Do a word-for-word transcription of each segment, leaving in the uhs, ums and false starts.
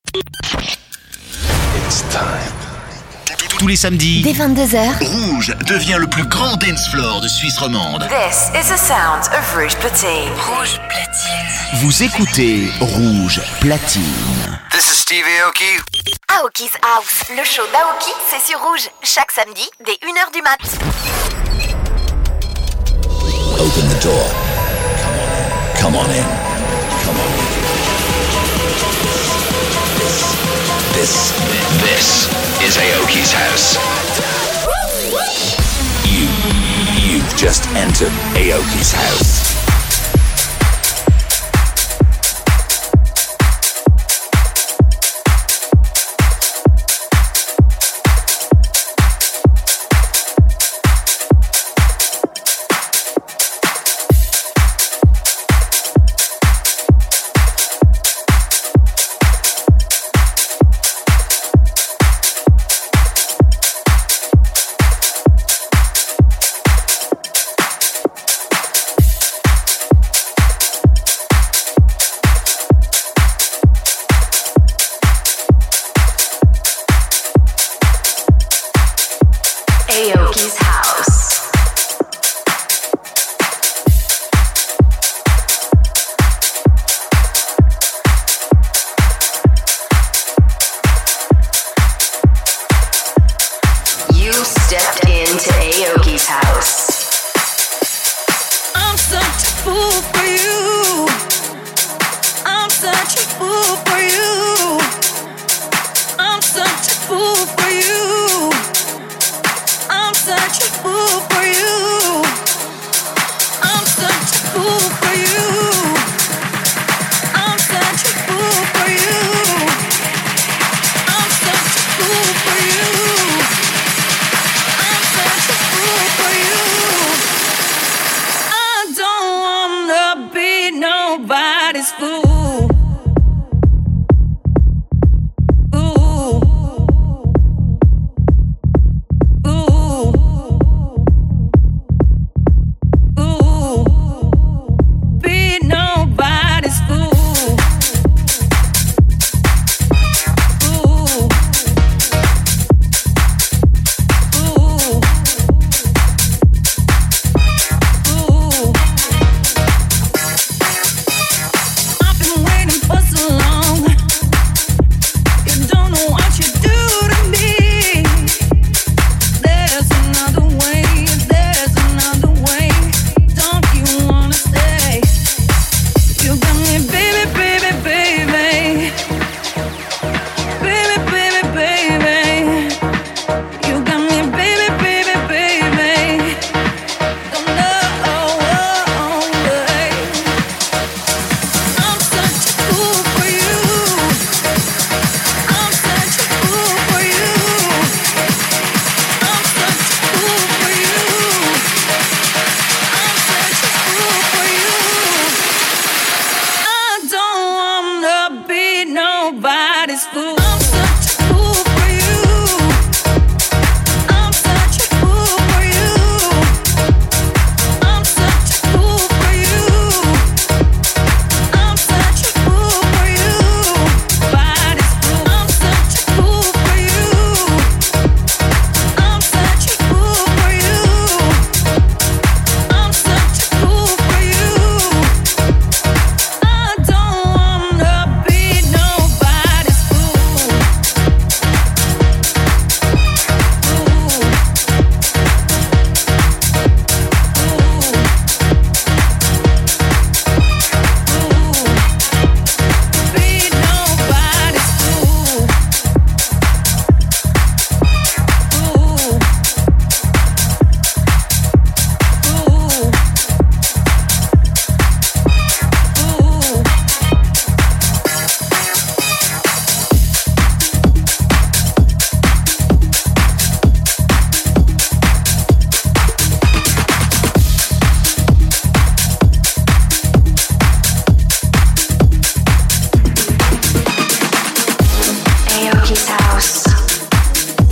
It's time. Tous les samedis, dès vingt-deux heures, Rouge devient le plus grand dance floor de Suisse romande. This is the sound of Rouge Platine. Rouge Platine. Vous écoutez Rouge Platine. This is Steve Aoki. Aoki's House, le show d'Aoki, c'est sur Rouge, chaque samedi, dès une heure du mat. Open the door. Come on in. Come on in. Come on in. This, this, this is Aoki's house. You, you've just entered Aoki's house. Aoki's house. You stepped into Aoki's house. I'm such a fool for you. I'm such a fool for you. I'm such a fool for you. I'm such a fool for you. I'm such a fool for you. I'm such a fool for you. I'm such a fool for you. I'm such a fool for you. I don't wanna be nobody's fool.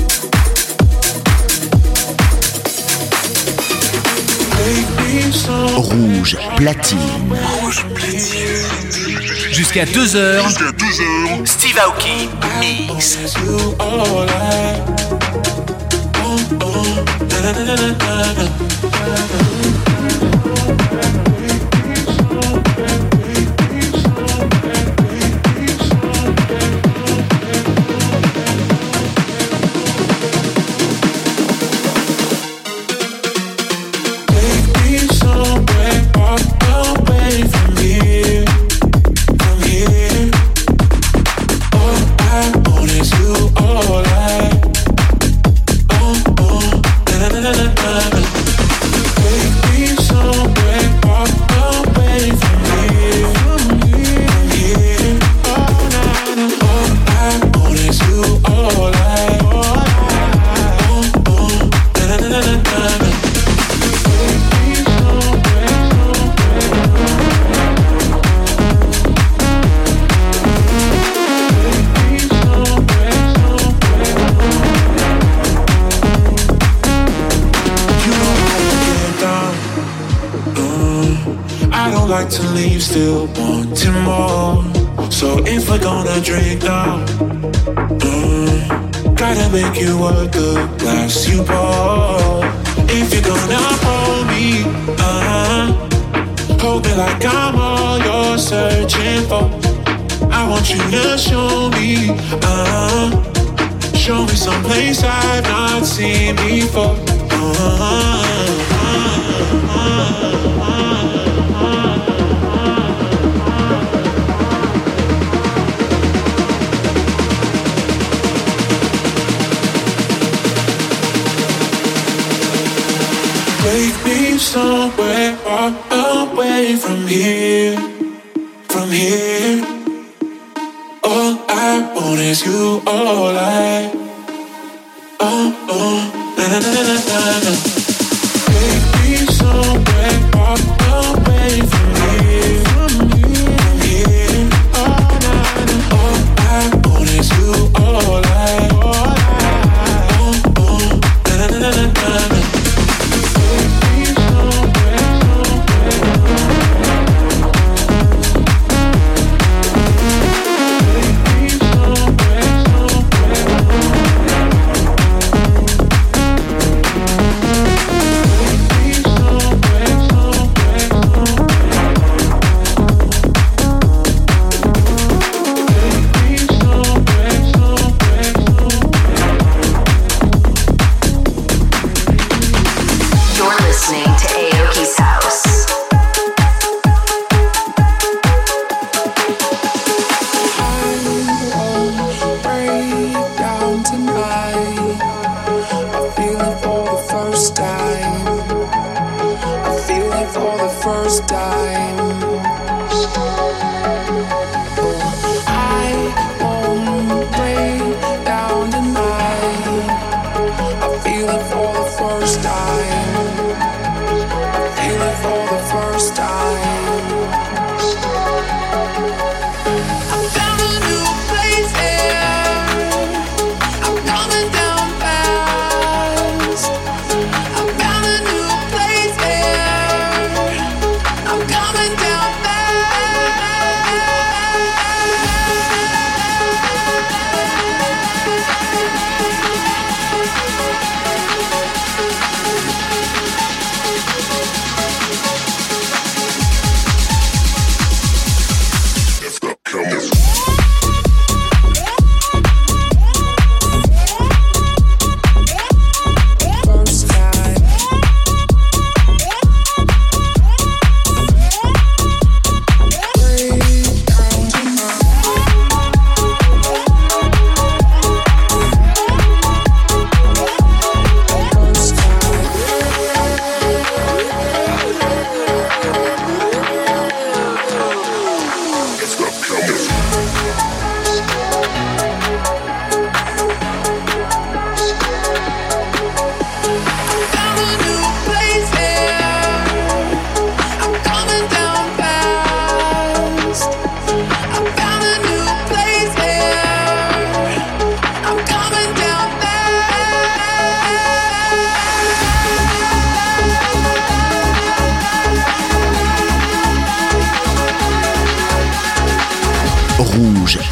Take me so Rouge platine. Rouge platine. Jusqu'à deux heures. Jusqu'à deux heures. Steve Aoki Mix. To leave, still wanting more. So if we're gonna drink now, mm, gotta make you work the glass you pour. If you're gonna hold me, uh-huh, hold me like I'm all you're searching for. I want you to show me, uh-huh, show me someplace I've not seen before. Uh-huh, uh-huh, uh-huh. Take me somewhere far away from here, from here. All I want is you, all I, oh, oh, na na na na na na. Take me somewhere far away from here, from here. Oh, na na. All I want is you, all I, oh, oh, na na na na na. Somewhere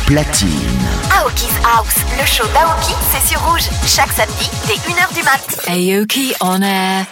Platine. Aoki's House, le show d'Aoki, c'est sur Rouge, chaque samedi dès une heure du mat. Aoki on air.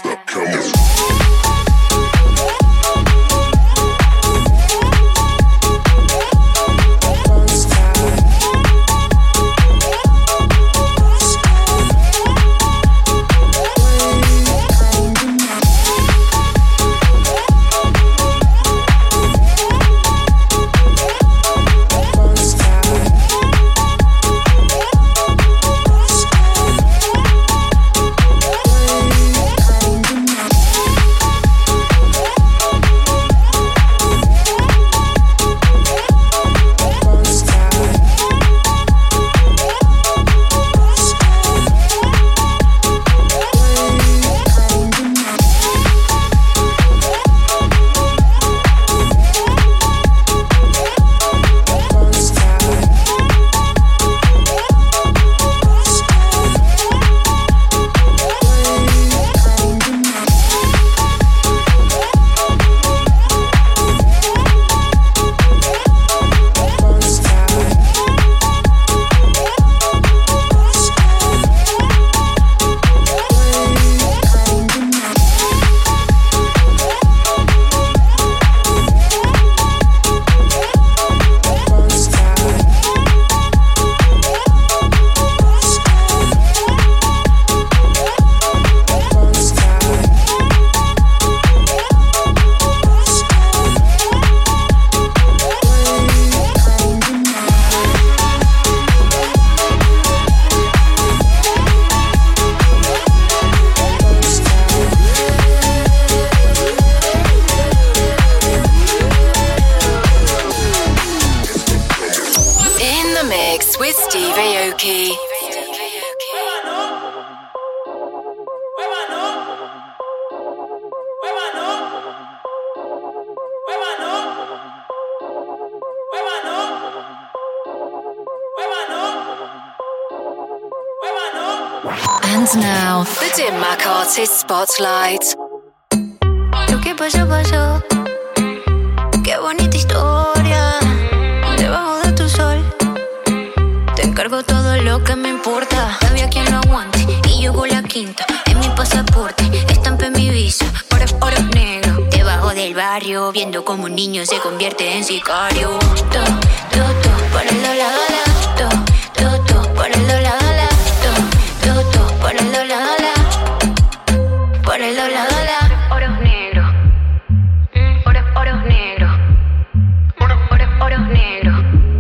And now, the Dim Mak Artist Spotlight. Lo que pasó, pasó. Qué bonita historia. Debajo de tu sol. Te encargo todo lo que me importa. Había quien lo aguante y yo con la quinta. En mi pasaporte, estampé mi visa. Oro, oro negro. Debajo del barrio, viendo como un niño se convierte en sicario. To, to, to, por el dólar, to, to, to, por el dólar. Por el dólar, por el dólar, oros negros, oros, oros negros, oros, oros, oros negros,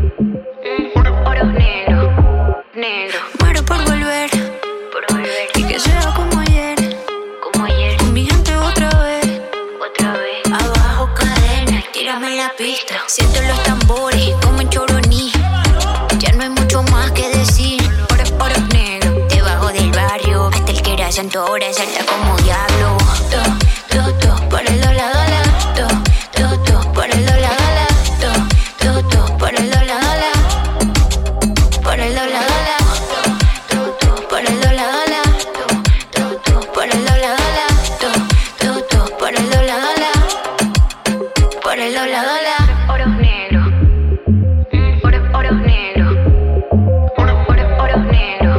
oros negros, negros. Muero por volver, por volver, y que sea como ayer, como ayer. Con mi gente otra vez, otra vez. Abajo cadena, tírame la pista. Siento los tambores como en Choroní. Ya no hay mucho más que decir. Oros, oros negros. Hasta el que era santo ahora salta como diablo. To, to, to, por el dólar, dólar. To, to, to, por el dólar, dólar. To, to, to, por el dólar, dólar. Por el dólar, dólar. To, to, por el dólar, dólar. To, to, por el dólar, dólar. To, to, to, por el dólar, dólar. Por el dólar, dólar. Oros negros. Oros, oros negros. Oros, oros, oros negros.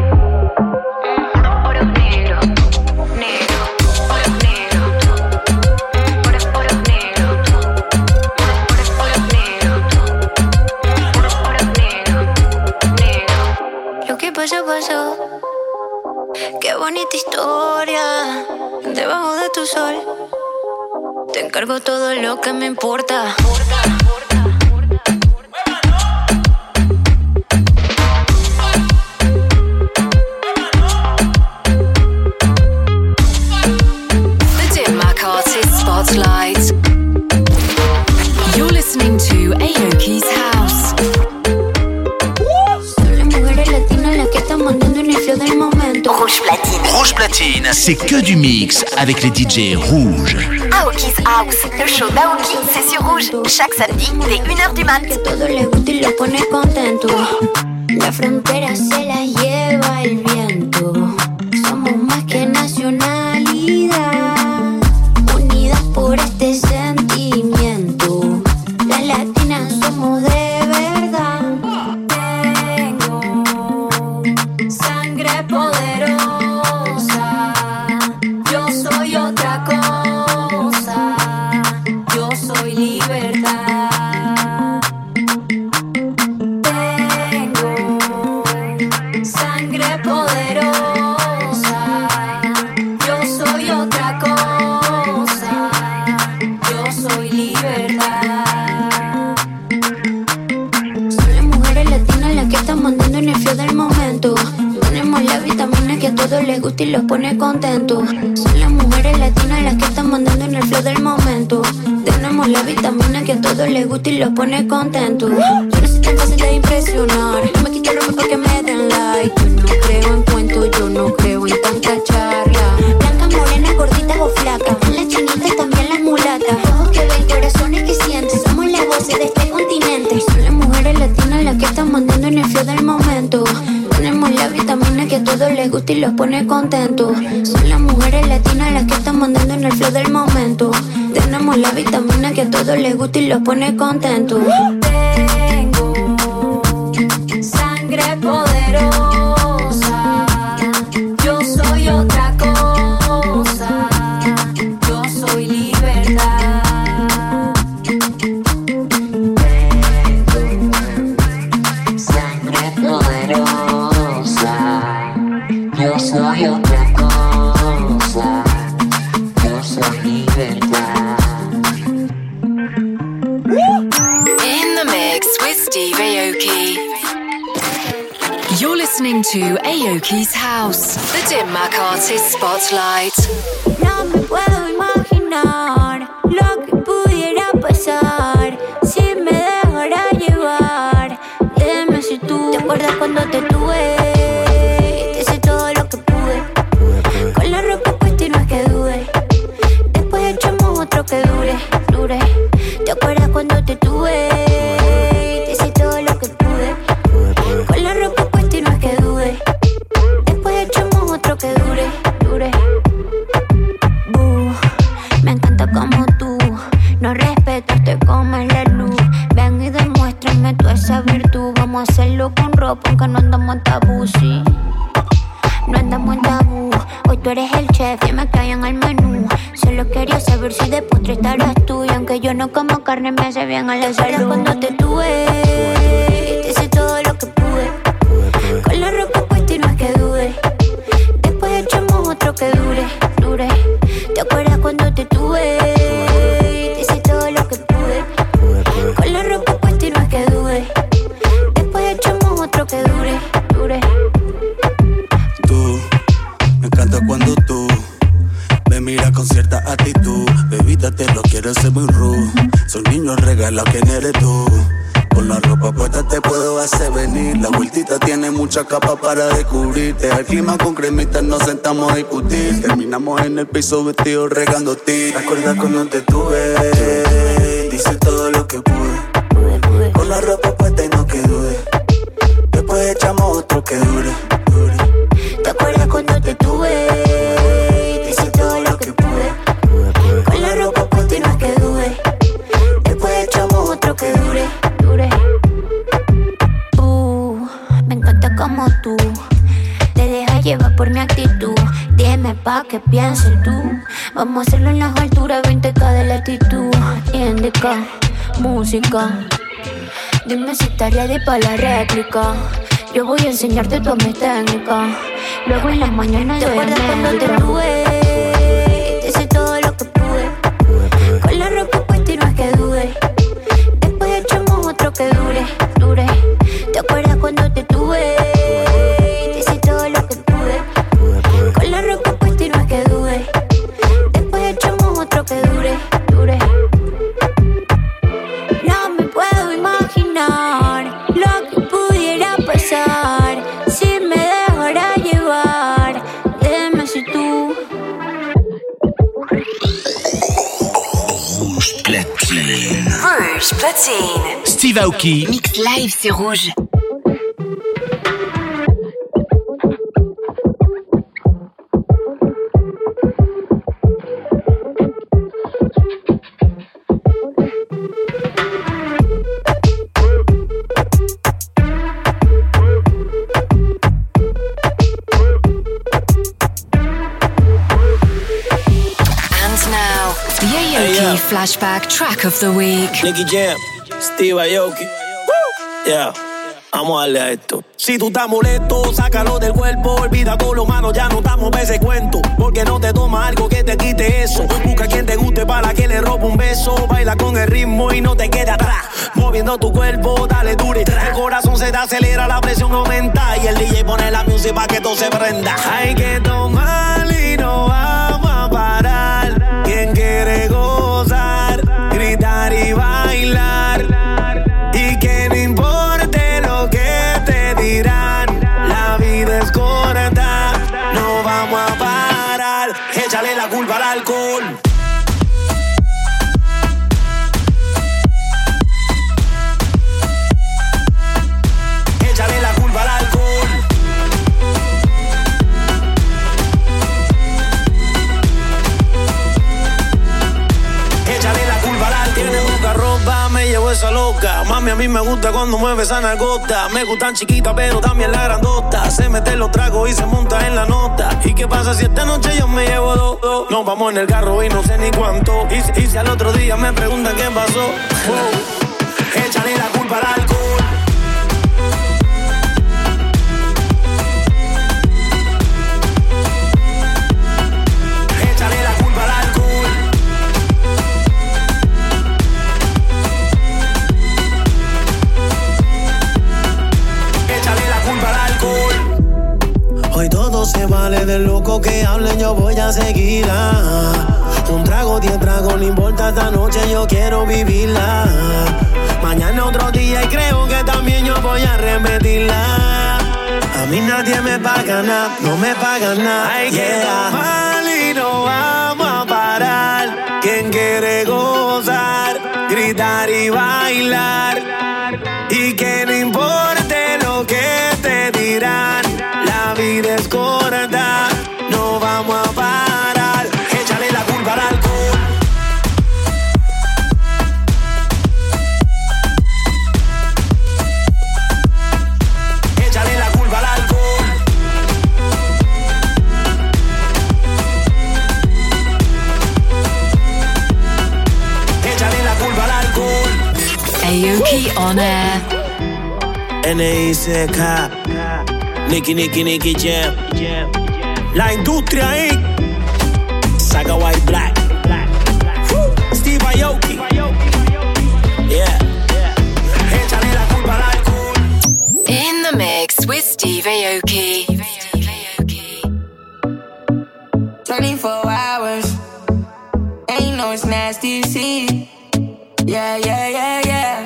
Pasó, pasó. Qué bonita historia. Debajo de tu sol. Te encargo todo lo que me importa. The Dim Mak Artist Spotlight. You're listening to Aoki's House. Rouge Platine. Rouge Platine, c'est que du mix avec les D J rouges. Aoki's House, le show d'Aoki, c'est sur Rouge, chaque samedi dès une heure du mat. Todo le gusta y lo pone contento. La frontera se la lleva el viento. Somos más que nacionalidad, unidas por este sentimiento. Las latinas somos de verdad. mandando en el flow del momento. Tenemos la vitamina que a todos les gusta y los pone contentos. Son las mujeres latinas las que están mandando en el flow del momento. Tenemos la vitamina que a todos les gusta y los pone contentos. Yo no soy tan fácil de impresionar, no me quito ropa para que me den like. Yo no creo en cuentos, yo no creo en tanta charla. Blancas, morenas, gorditas o flacas, las chinitas, también las mulatas. Ojos que ven, corazones que sienten, somos las voces de este continente. Son las mujeres latinas las que están mandando en el flow del momento. Tenemos la vitamina que a todos les gusta y los pone contentos. Son las mujeres latinas las que están mandando en el flow del momento. Tenemos la vitamina que a todos les gusta y los pone contentos. Tengo sangre poderosa, yo soy otra cosa, yo soy libertad. Tengo sangre poderosa, yo soy otra cosa, yo soy libertad. In the mix with Steve Aoki. You're listening to Aoki's House, the Dim Mak Artist Spotlight. No me puedo imaginar lo que pudiera pasar si me dejara llevar. Dime si tú te acuerdas cuando te tuve. Te hice todo lo que pude, con la ropa puesta y no es que dude. Después echamos otro que dure, dure. ¿Te acuerdas cuando te tuve? Te hice todo lo que pude, con la ropa puesta y no es que dude. Después echamos otro que dure, dure. Uh, me encanta como tú no respetas, te comes la luz. Ven y demuéstrame tú esa virtud. Vamos a hacerlo con ropa aunque no andamos en tabú, sí. No andamos en tabú. Hoy tú eres el chef y me caen al menú. Solo quería saber si de postre estarás tú. Y aunque yo no como carne me hace bien a la salud. Cuando te tuve, te hice todo lo que pude, con la ropa puesta y no es que dude. Después echamos otro que dure, dure. ¿Te acuerdas cuando te tuve? Te hice todo lo que pude, con la ropa puesta y no es que dude. Después echamos otro que dure, dure. Tú, me encanta cuando tú me miras con cierta actitud. Bebita, te lo quiero hacer muy rude. Son niños regalados, ¿quién eres tú? Con la ropa puesta te puedo hacer venir. La vueltita tiene mucha capa para descubrirte. Al clima con cremita nos sentamos a discutir. Terminamos en el piso vestidos regando ti. ¿Te acuerdas cuando te tuve? Dice todo lo que pude, con la ropa puesta y no que dude. Después echamos otro que dure, dure. ¿Te acuerdas cuando te tuve? Te hice todo lo que pude, con la ropa puesta y no es que dude. Después echamos otro que dure, dure. Uh, me encanta como tú te dejas llevar por mi actitud. Dime pa' que pienses tú. Vamos a hacerlo en las alturas, veinte K de latitud. Indica, música. Dime si estás ready pa' la réplica. Yo voy a enseñarte toda mi técnica. Luego en las mañanas ¿te acuerdas cuando te tuve? Te hice todo lo que pude, con la ropa puesta y no es que dude. Después echamos otro que dure, dure. ¿Te acuerdas cuando te tuve? Te hice todo lo que pude, con la ropa puesta y no es que dude. Después echamos otro que dure, dure. No me puedo imaginar lo que pudiera pasar si me dejara llevar. Dime si tú. Rouge Platine. Rouge Platine. Steve Aoki. Mix live, c'est rouge. Flashback track of the week. Nicky Jam, Steve Aoki. Yeah. Vamos a darle a esto. Si tú estás molesto, sácalo del cuerpo. Olvida todo lo malo, ya no estamos para ese cuento. Porque no te toma algo que te quite eso. Busca a quien te guste para que le robe un beso. Baila con el ritmo y no te quede atrás. Moviendo tu cuerpo, dale dure. El corazón se te acelera, la presión aumenta. Y el D J pone la música para que todo se prenda. Hay que tomar y no vamos a parar. Quien quiere gozar, gritar y bailar. Y que no importe lo que te dirán. La vida es corta, no vamos a parar. Échale la culpa al alcohol. Échale la culpa al alcohol. Échale la culpa al alcohol. Tiene poca ropa, me llevo esa loca. Mami, a mí me gusta cuando mueve esa nalgota. Me gustan chiquitas, pero también la grandota. Se mete en los tragos y se monta en la nota. ¿Y qué pasa si esta noche yo me llevo dos? dos? Nos vamos en el carro y no sé ni cuánto. Y, y si al otro día me preguntan qué pasó. Wow. Échale la culpa al alcohol. Échale la culpa al alcohol. Échale la culpa al alcohol. Hoy todo se vale, del loco que hablen yo voy a seguirla. Un trago, diez tragos, no importa, esta noche yo quiero vivirla. Mañana otro día y creo que también yo voy a repetirla. A mí nadie me paga nada, no me paga nada. Hay que tomar y no vamos a parar. Quien quiere gozar, gritar y bailar. Y que no importe lo que te dirán. La vida es corta, no vamos a parar. Échale la culpa al alcohol. Échale la culpa al alcohol. Échale la culpa al alcohol. Aoki on air. N I C K Nicky, Nicky, Nicky Jam. La industria ahí. Saga White Black. Steve Aoki. Yeah. Échale la culpa al alcohol. In the mix with Steve Aoki. twenty-four hours. Ain't no it's nasty, see. Yeah, yeah, yeah, yeah.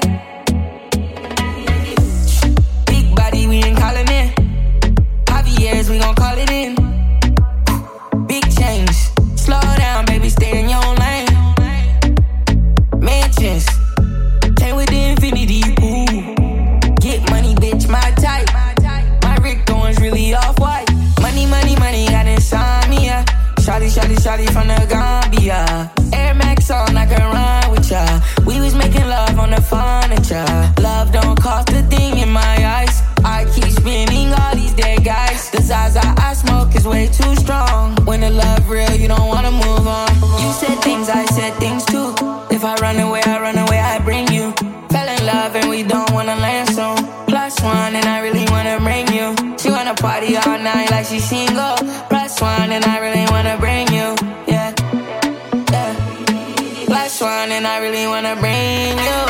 Big body, we ain't calling it. Javier's, we gon' call it in. Big change. Slow down, baby, stay in your lane. Mansions. Came with the infinity, ooh. Get money, bitch, my type. My Rick Owens really off-white. Money, money, money, got insomnia. Shawty, shawty, shawty from the Gambia. Air Max on, I can run with ya. We was making love on the furniture. Love don't cost a thing in my eyes. I keep spinning all these dead guys. The Zaza I smoke is way too strong. When the love real, you don't wanna move on. You said things, I said things too. If I run away, I run away, I bring you. Fell in love and we don't wanna land soon. Plus one and I really wanna bring you. She wanna party all night like she's single. Plus one and I really wanna bring you. Yeah, yeah. Plus one and I really wanna bring you.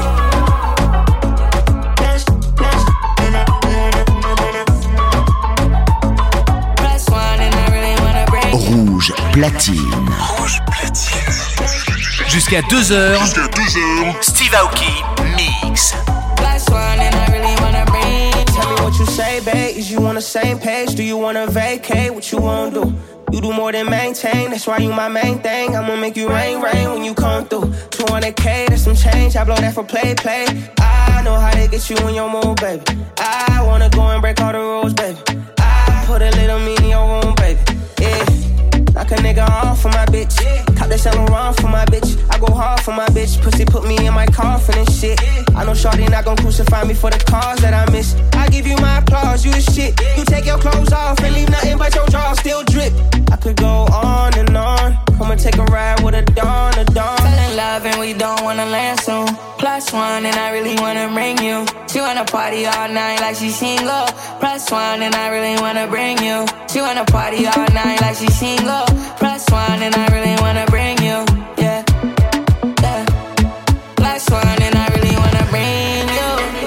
Rouge Platine. Rouge Platine. Jusqu'à deux heures. Jusqu'à deux heures. Steve Aoki Mix. Last one and I really wanna bring. Tell me what you say, babe. Is you on the same page? Do you wanna vacate? What you wanna do? You do more than maintain, that's why you my main thing. I'ma make you rain, rain when you come through. two hundred K, that's some change, I blow that for play, play. I know how to get you in your mood, baby. I wanna go and break all the rules, baby. I put a little me in your room, baby. Yeah. Knock a nigga off for my bitch. Cop that Saint Laurent for my bitch. I go hard for my bitch. Pussy put me in my coffin and shit. I know shorty not gon' crucify me for the cause that I miss. I give you my applause, you the shit. You take your clothes off and leave nothing but your jaw still drip. I could go on and on. Come and take a ride with a dawn, a dawn. Fell in love and we don't wanna land soon. Plus one and I really wanna bring you. She wanna party party all night like she single. Plus one and I really wanna bring you. She wanna party all night like she single. Plus one and I really wanna bring you. Yeah, yeah. Plus one and I really wanna bring you.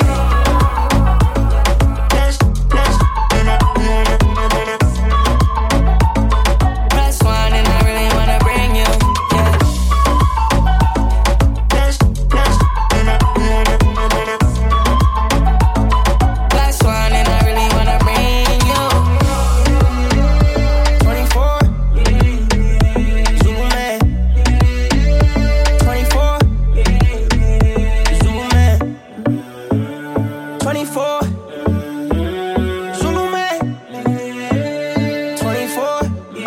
Plus one and I really wanna bring you. Yeah. Plus one and I really wanna bring you. twenty-four, Zulu man. twenty-four, Zulu man. twenty-four, Zulu man. twenty-four,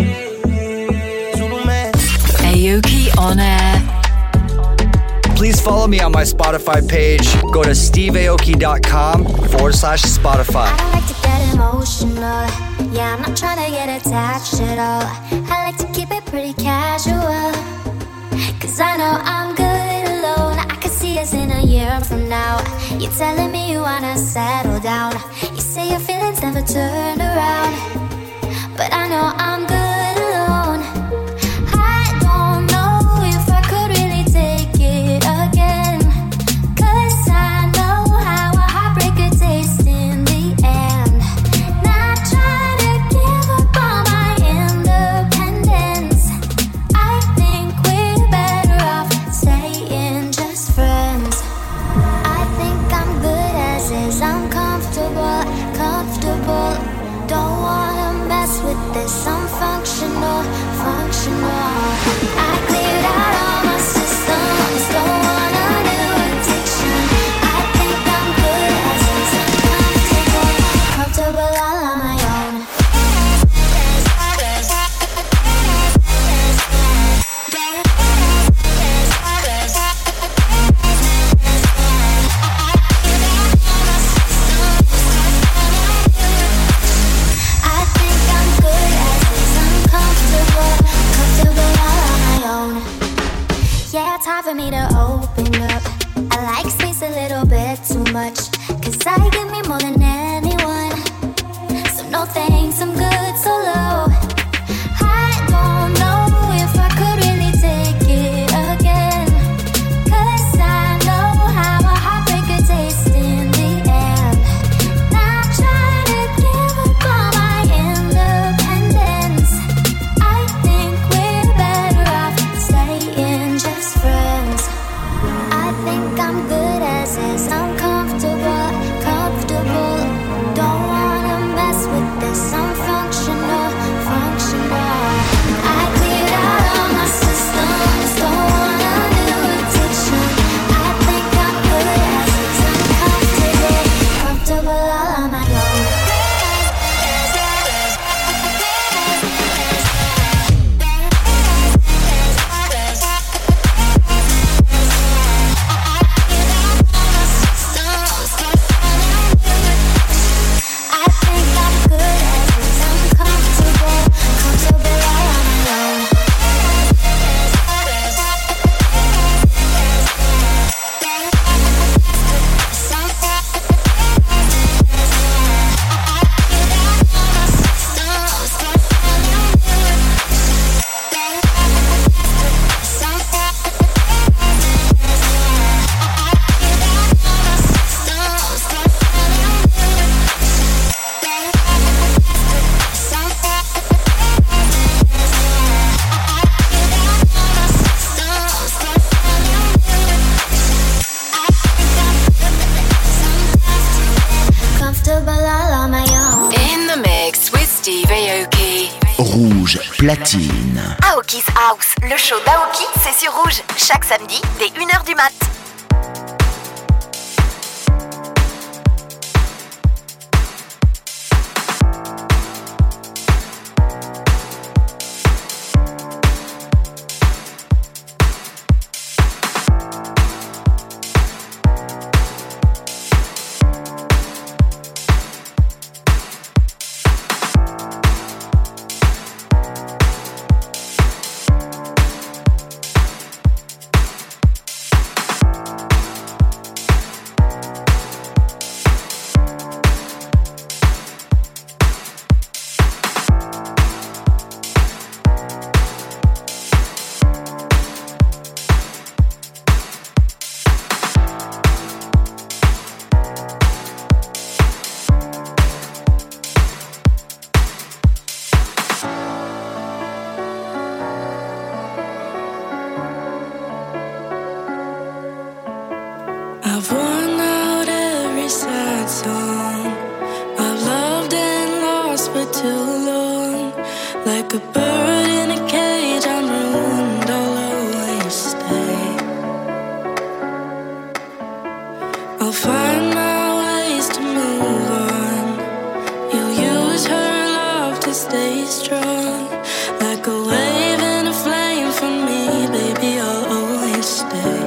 Zulu man. Aoki on air. Please follow me on my Spotify page. Go to steveaoki.com forward slash Spotify. I don't like to get emotional. Yeah, I'm not trying to get attached at all. I like to keep it pretty casual. Cause I know I'm good alone. I can see us in a year from now. You're telling me you wanna settle down. You say your feelings never turn around. But I know I'm good alone. I don't know if I could really take it again. Cause I know how a heartbreak could taste in the end. Not trying to give up on my independence. I think we're better off staying just friends. I think I'm good as is. I'm comfortable, comfortable. Don't wanna mess with this. I'm functional, functional. I cleared out all my systems. Don't want a new addiction. I think I'm good as is. I'm comfortable, comfortable all on my own. I think I'm good as is. I'm comfortable, comfortable all on my own. Yeah, it's hard for me to open up. I like space a little bit too much. Cause I give me more than anyone. So no thanks, I'm good solo. I don't know if I could really take it again. Cause I know how a heartbreak could taste in the end. Not trying to give up on my independence. I think we're better off staying just friends. I think I'm good as is. I'm comfortable, comfortable. Don't wanna mess with this. I'm functional, functional. I cleared out all my systems. Don't want a new addiction. I think I'm good as is. I'm comfortable, comfortable all on my own. I think I'm good as is. I'm comfortable, comfortable all on my own. Comfortable all on my own. In the mix with Steve Aoki. Rouge platine. Aoki's House, le show d'Aoki, c'est sur Rouge, chaque samedi dès une heure du mat. lost for too long. Like a bird in a cage, I'm ruined, I'll always stay. I'll find my ways to move on. You'll use her love to stay strong. Like a wave and a flame for me, baby, I'll always stay.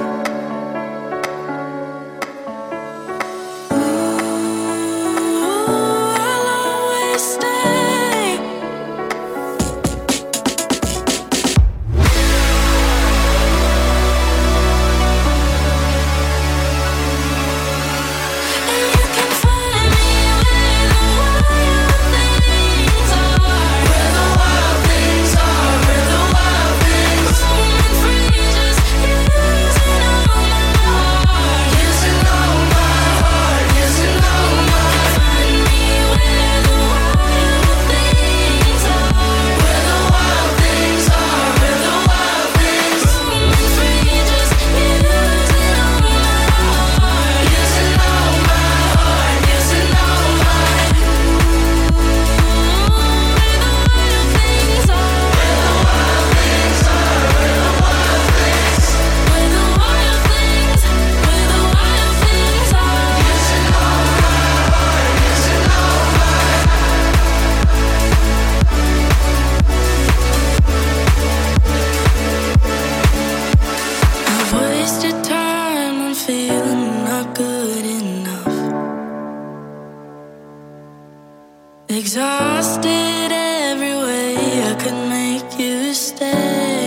Exhausted every way I could make you stay.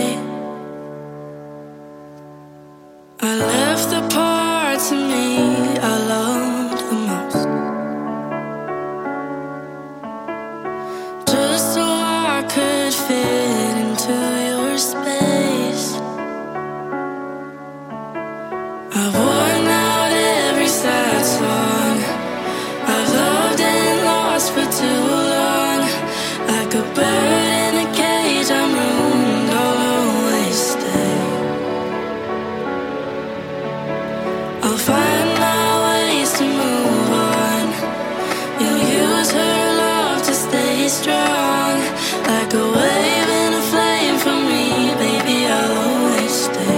I left the parts of me I loved the most, just so I could fit into your space. I've worn out every sad song I've loved and lost for too long. Like a bird in a cage, I'm ruined, I'll always stay. I'll find my ways to move on. You'll use her love to stay strong. Like a wave and a flame for me, baby, I'll always stay.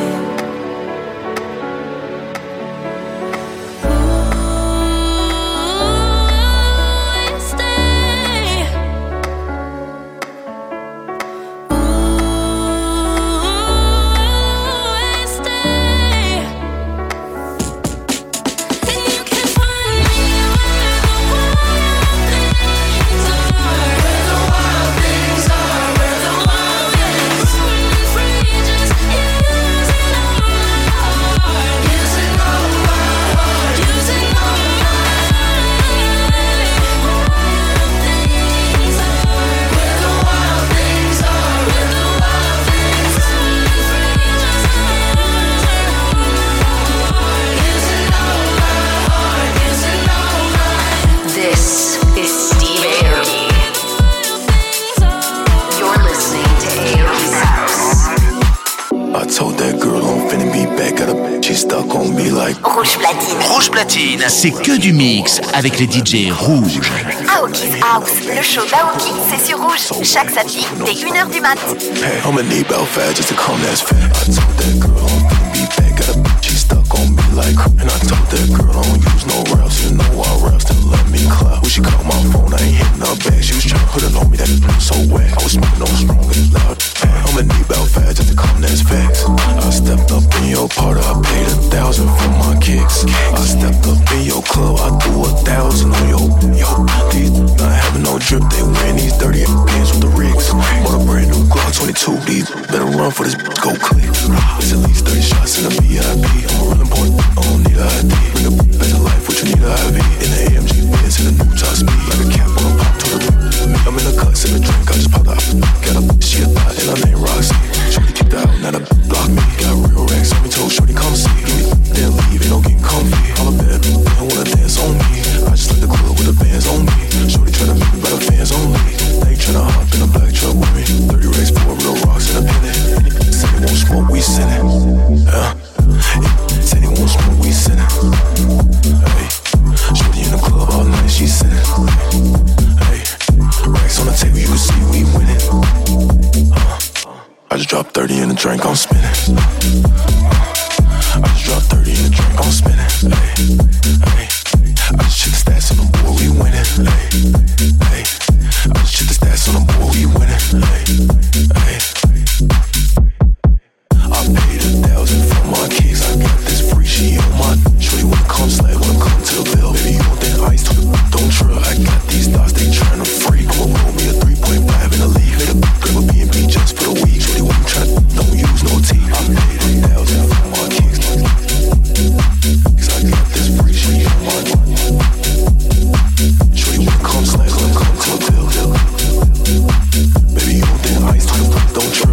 Rouge Platine, c'est que du mix avec les D J rouges. Aoki's House, le show d'Aoki, c'est sur Rouge, chaque samedi dès une heure du mat. Hey, I'ma need about fast just to come, that's fair. I told that girl I'm finna be back, got a bitch, she stuck on me like her. And I told that girl I don't use no raps, you know I raps, then let me clap. When she called my phone, I ain't hitting her back. She was tryna put it on me, that so wet. I was smoking on strong and loud. Hey, I'ma need about fast just to come, that's facts. I stepped up in your party, I paid a thousand for my kicks. I stepped up in your club, I threw a thousand on your, yo. These not having no drip, they wearing these dirty pants with the rigs. Bought a brand new Glock twenty-two, these better run for this bitch, go click. It's at least thirty shots in the V I P. I'm a real important, I don't need a I D. Bring a bitch back to life, what you need a I V. In the A M G Benz, in the new top speed. Like a cap on a pop to the me. I'm in the cuts in the drink, I just popped out. Got a she a thot, and I named Roxy. Shorty kicked out, now the block me. Got real racks on me, told Shorty come see. Give me then leave, ain't no getting comfy. I'm a bad bitch, they don't wanna dance on me. I just like the club with the bands on me. Shorty tryna make me better fans only. They tryna hop in a black truck with me. thirty racks for real rocks in a penny. Say they won't smoke, we send it. Yeah. Say they won't smoke, we send it. drink, I'm spinning. I just dropped thirty in the drink, I'm spinning. Ay, ay. I just check the stats on the board, we winning. Ay, ay. I just check the stats on the board, we winning. Ay, ay. I paid a thousand for my kicks, I got this free, she on my. Shorty wanna come slide, wanna come to the bill. Baby, you want that ice, don't trip. I got these thoughts, they tryna freak. I'ma roll me a three point five in the league. Hit a grab a B and B just for the week. Shorty wanna try, don't use no tea. I paid a thousand for my kicks, cause I got this free, she on my. Shorty wanna come slide, wanna come to the bill. Baby, you want that ice, don't trip.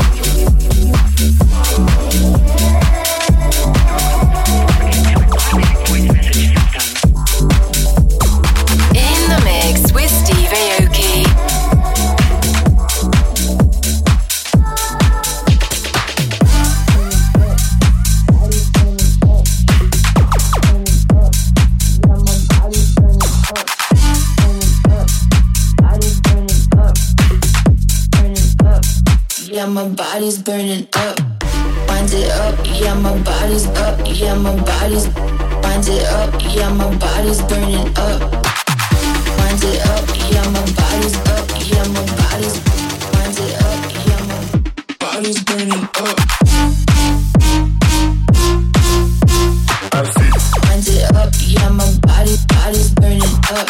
Yeah, my body's burning up. Wind it up, yeah, my body's up. Yeah, my body's. Wind it up, yeah, my body's burning up. Wind it up, yeah, my body's up. Yeah, my body's. Wind it up, yeah, my body's burning up. Wind it up, yeah, my body, body's burning up.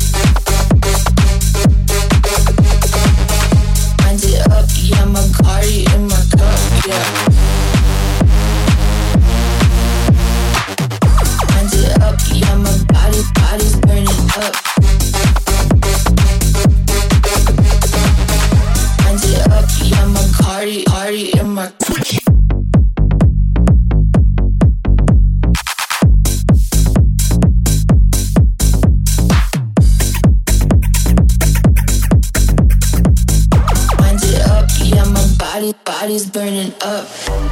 Wind it up, yeah, my Cardi in my cup, yeah. Wind it up, yeah, my body, body's burning up. Wind it up, yeah, my Cardi, Cardi in my cup. Body, body's burning up.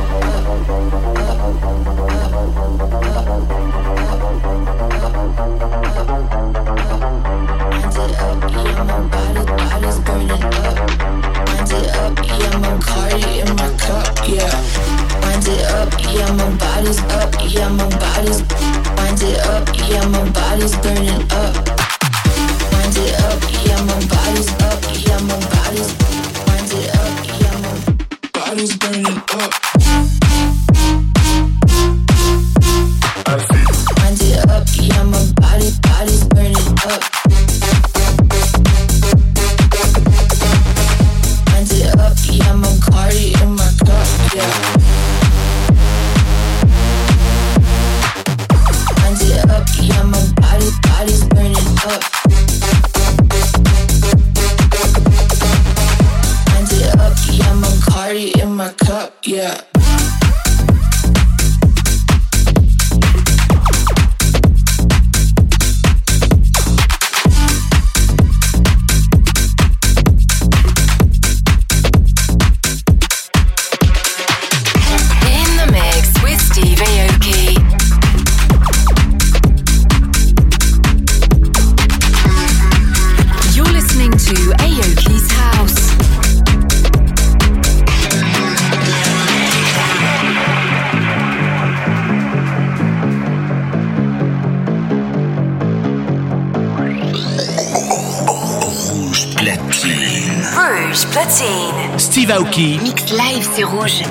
Wind it up, yeah, my body, body's burning up. Wind it up, yeah, my Cardi in my cup, yeah. Wind it up, yeah, my body's up, yeah, my body's. Wind it up, yeah, my body's burning up. Wind it up, yeah, my body's up, yeah, my body's. Wind it up, yeah, my body's burning up. Wind it up, yeah, my body, body's burning up. Wind it up, yeah, my Cardi in my cup, yeah. Wind it up, yeah, my body, body's burning up. Wind it up, yeah, my Cardi in my cup, yeah. Platine. Steve Aoki. Mix live, c'est rouge.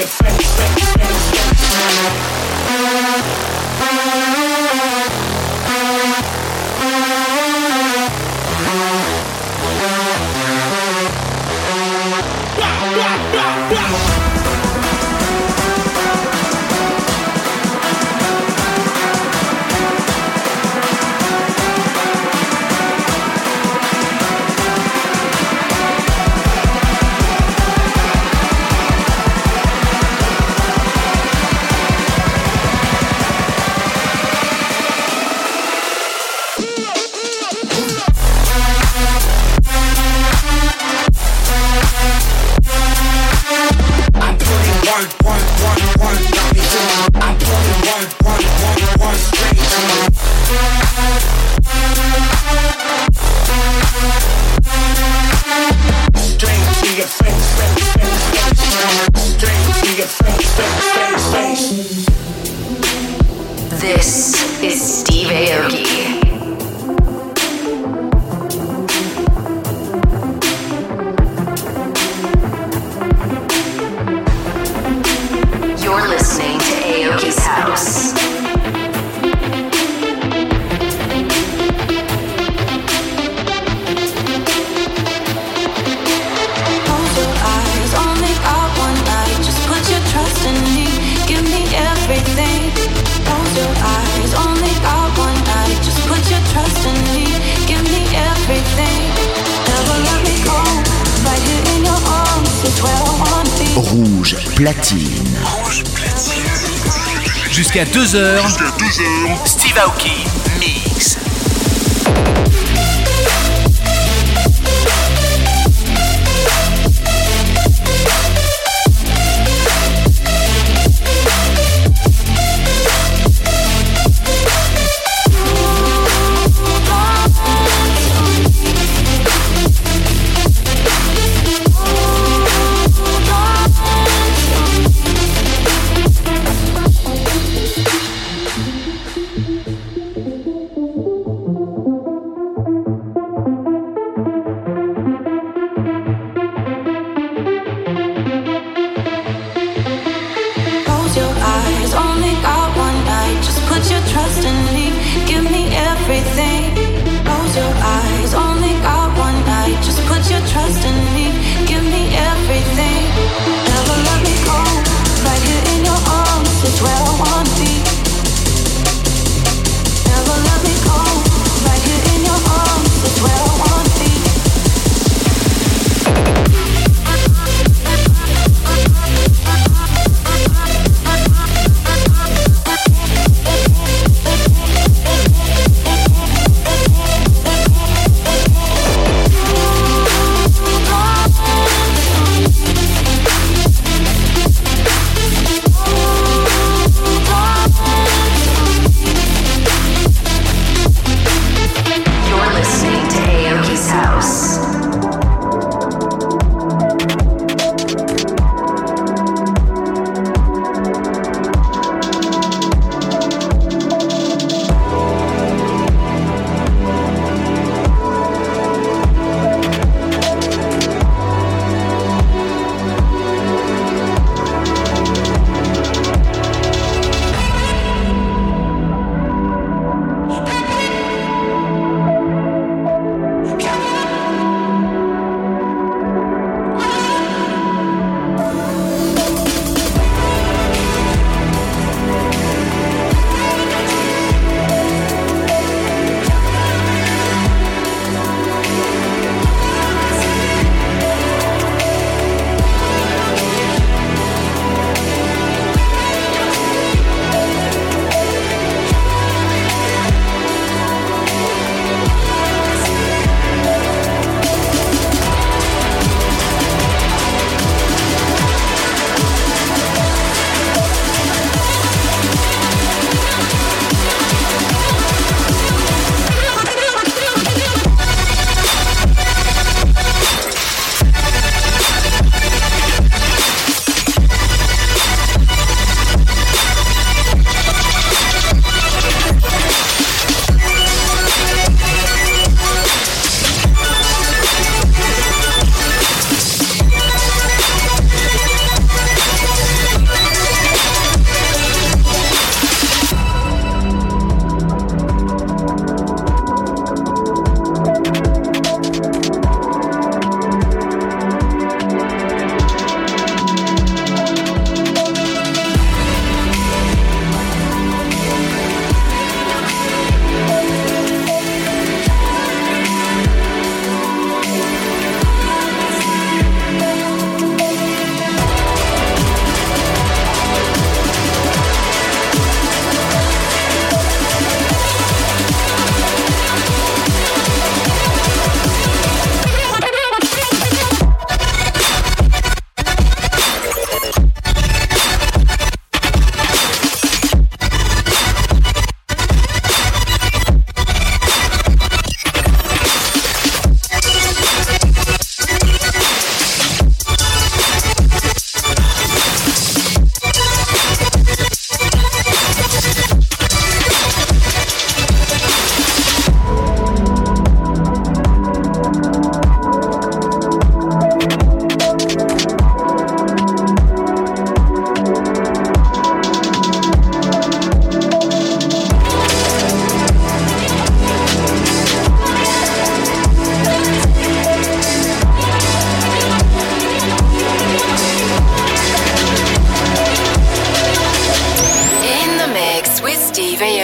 your face, face, face, This is Steve Aoki. You're listening to Aoki's House. Close your eyes, only got one night. Just put your trust in me, give me everything. Close your eyes, only got one night. Just put your trust in me, give me everything. Never let me go, right here in your arms, it's where I want to be. Rouge platine. Rouge platine. Jusqu'à deux heures. Jusqu'à deux heures. Steve Aoki Mix. Love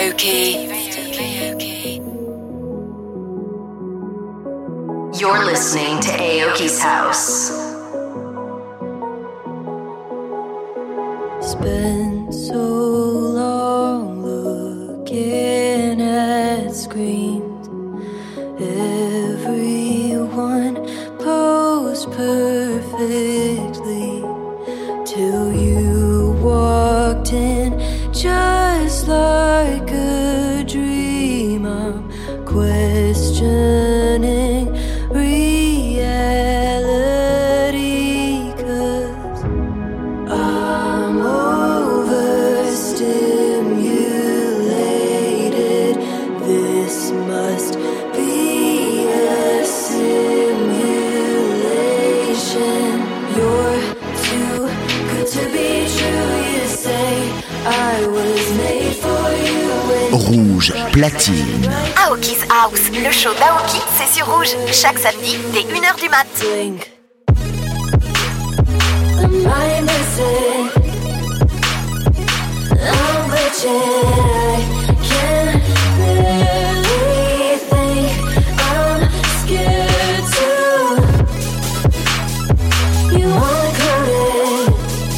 Aoki. You're listening to Aoki's House. Spent so long looking at screens. Everyone posed perfectly till you walked in, just like a dream. I'm questioning reality, 'cause I'm overstimulated. This must be a simulation. You're too good to be true, you say. I was made for you when Rouge platine. Aoki's House, le show d'Aoki, c'est sur Rouge, chaque samedi dès une heure du mat. am I missing? I'm wretched, I can't really think. I'm scared too. You wanna call it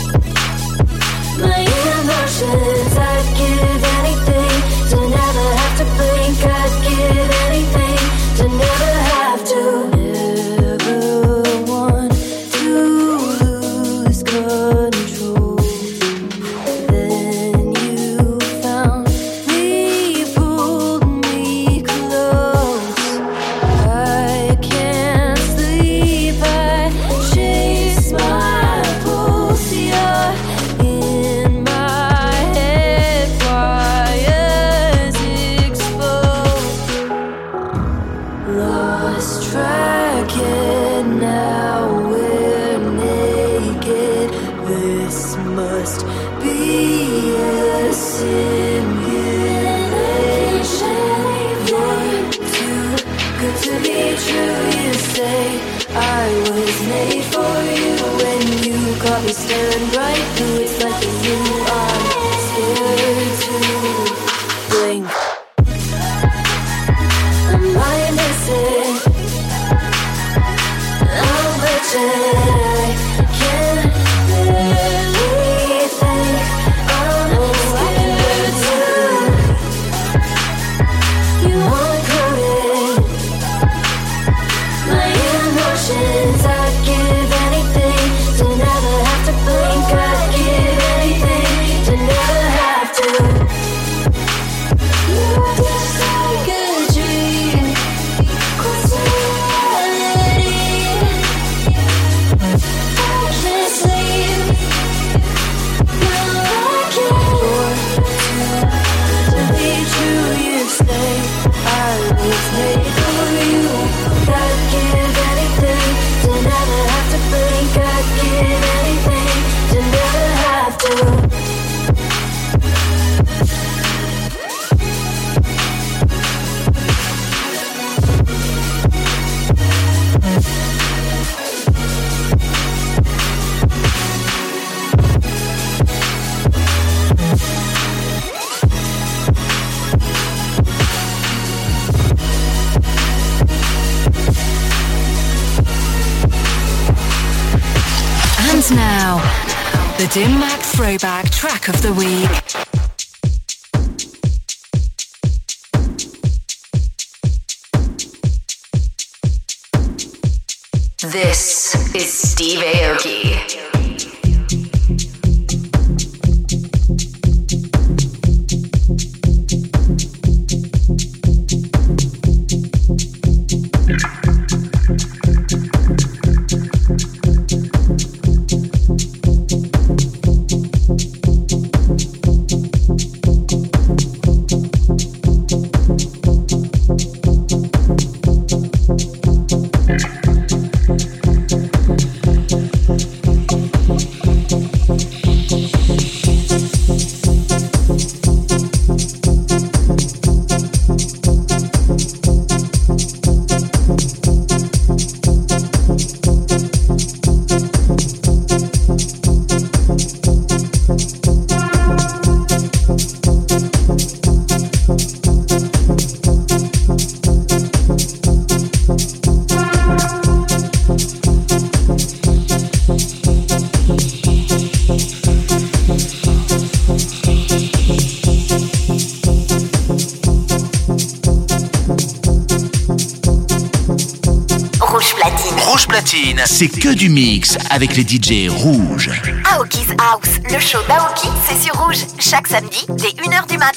my emotions. I'd give anything to never have to blink. I'd give anything to never have to. Never want to lose control. Then you found me, pulled me close. I can't sleep, I chase my pulse. You're in my head, wires exposed. Lost track and now we're naked. This must be a simulation. You're too good to be true, you say. I was made for you when you caught me staring right through. It's like you are scared to blink. Am I missing? I'm wretched, I can't really think. I'm scared too. You wanna call it my emotions. I'd give anything to never have to blink. I'd give anything to never have to. You're just like a dream, close to reality. I can't sleep, no I can't. To be true, you say. I was made for you. I'd give anything to never have to blink. I'd give anything to never have to. And now, the Dim Mak Throwback Track of the Week. This is Steve Aoki. platine, c'est que du mix avec les D J rouges. Aoki's House, le show d'Aoki, c'est sur Rouge, chaque samedi dès une heure du mat.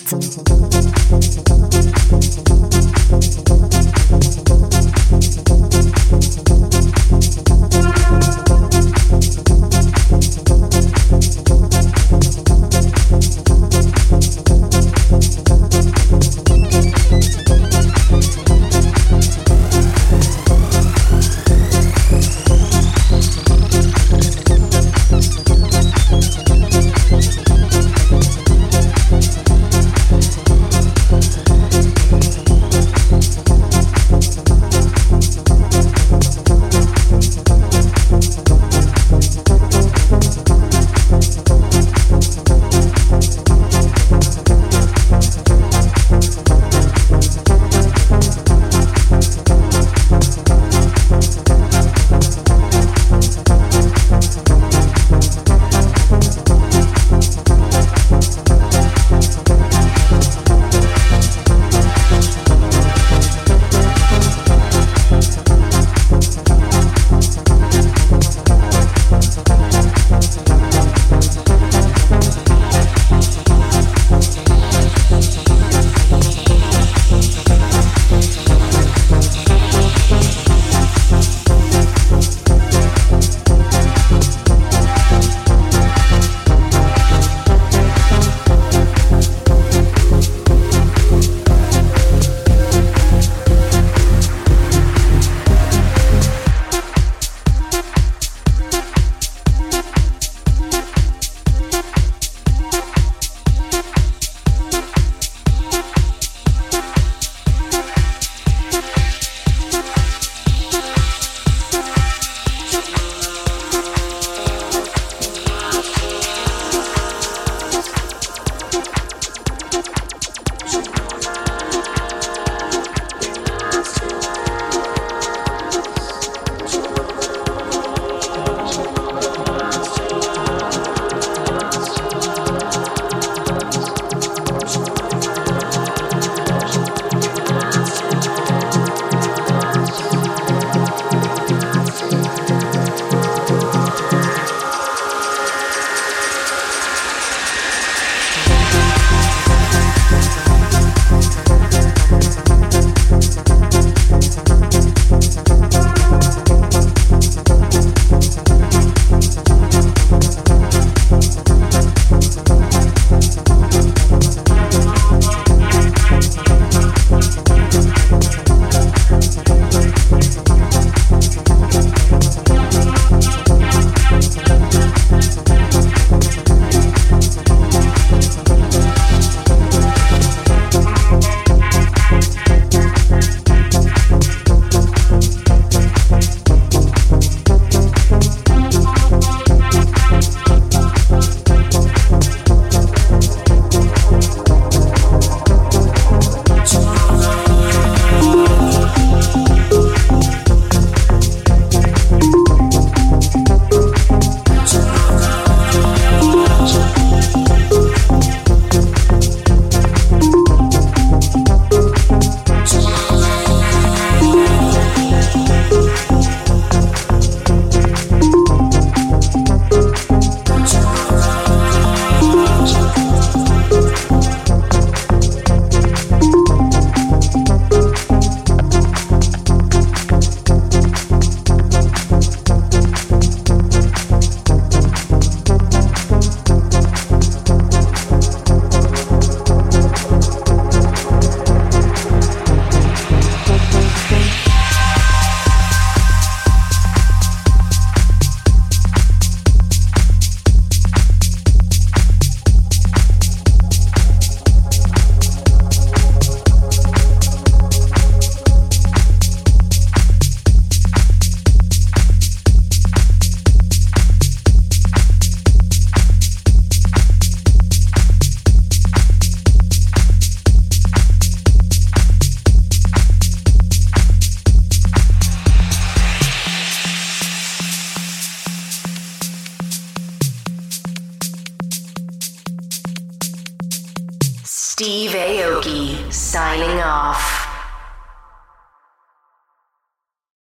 Steve Aoki signing off.